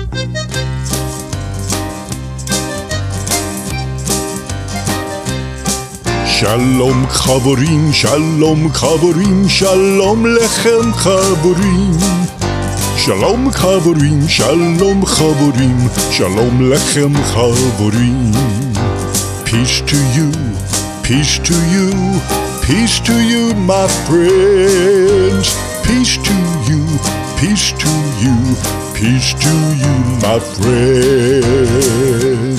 שלום חברים, שלום חברים, שלום לכם חברים. שלום חברים, שלום חברים, שלום לכם חברים. Peace to you, peace to you, peace to you, my friends. Peace to you, peace to you, peace to you, my friends.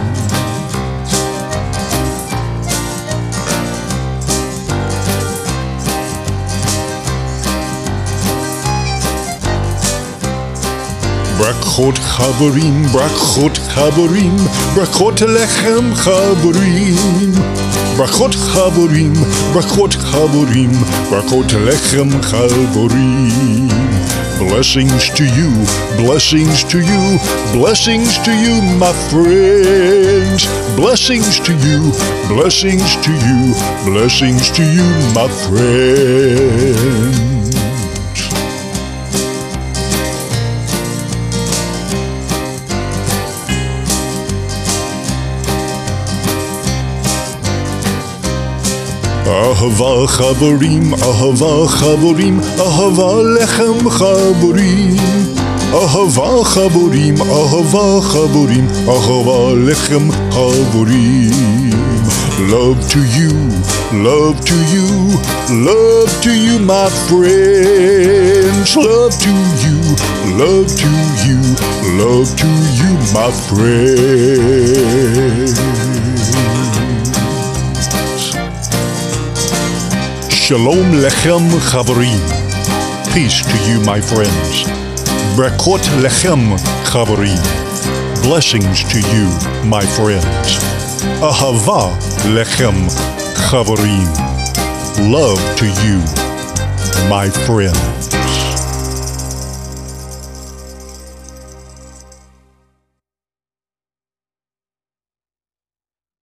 ברכות חברים, ברכות חברים, ברכות לכם חברים. ברכות חברים, ברכות חברים, ברכות לכם חברים. Blessings to you, blessings to you, blessings to you, my friends. Blessings to you, blessings to you, blessings to you, my friends. אהבה חברים, אהבה חברים, אהבה לכם חברים. אהבה חברים, אהבה חברים, אהבה לכם חברים. Love to you, love to you, love to you, my friends. Love to you, love to you, love to you, my friends. Shalom lechem chavarim. Peace to you, my friends. Brakot lechem chavarim. Blessings to you, my friends. Ahava lechem chavarim. Love to you, my friend.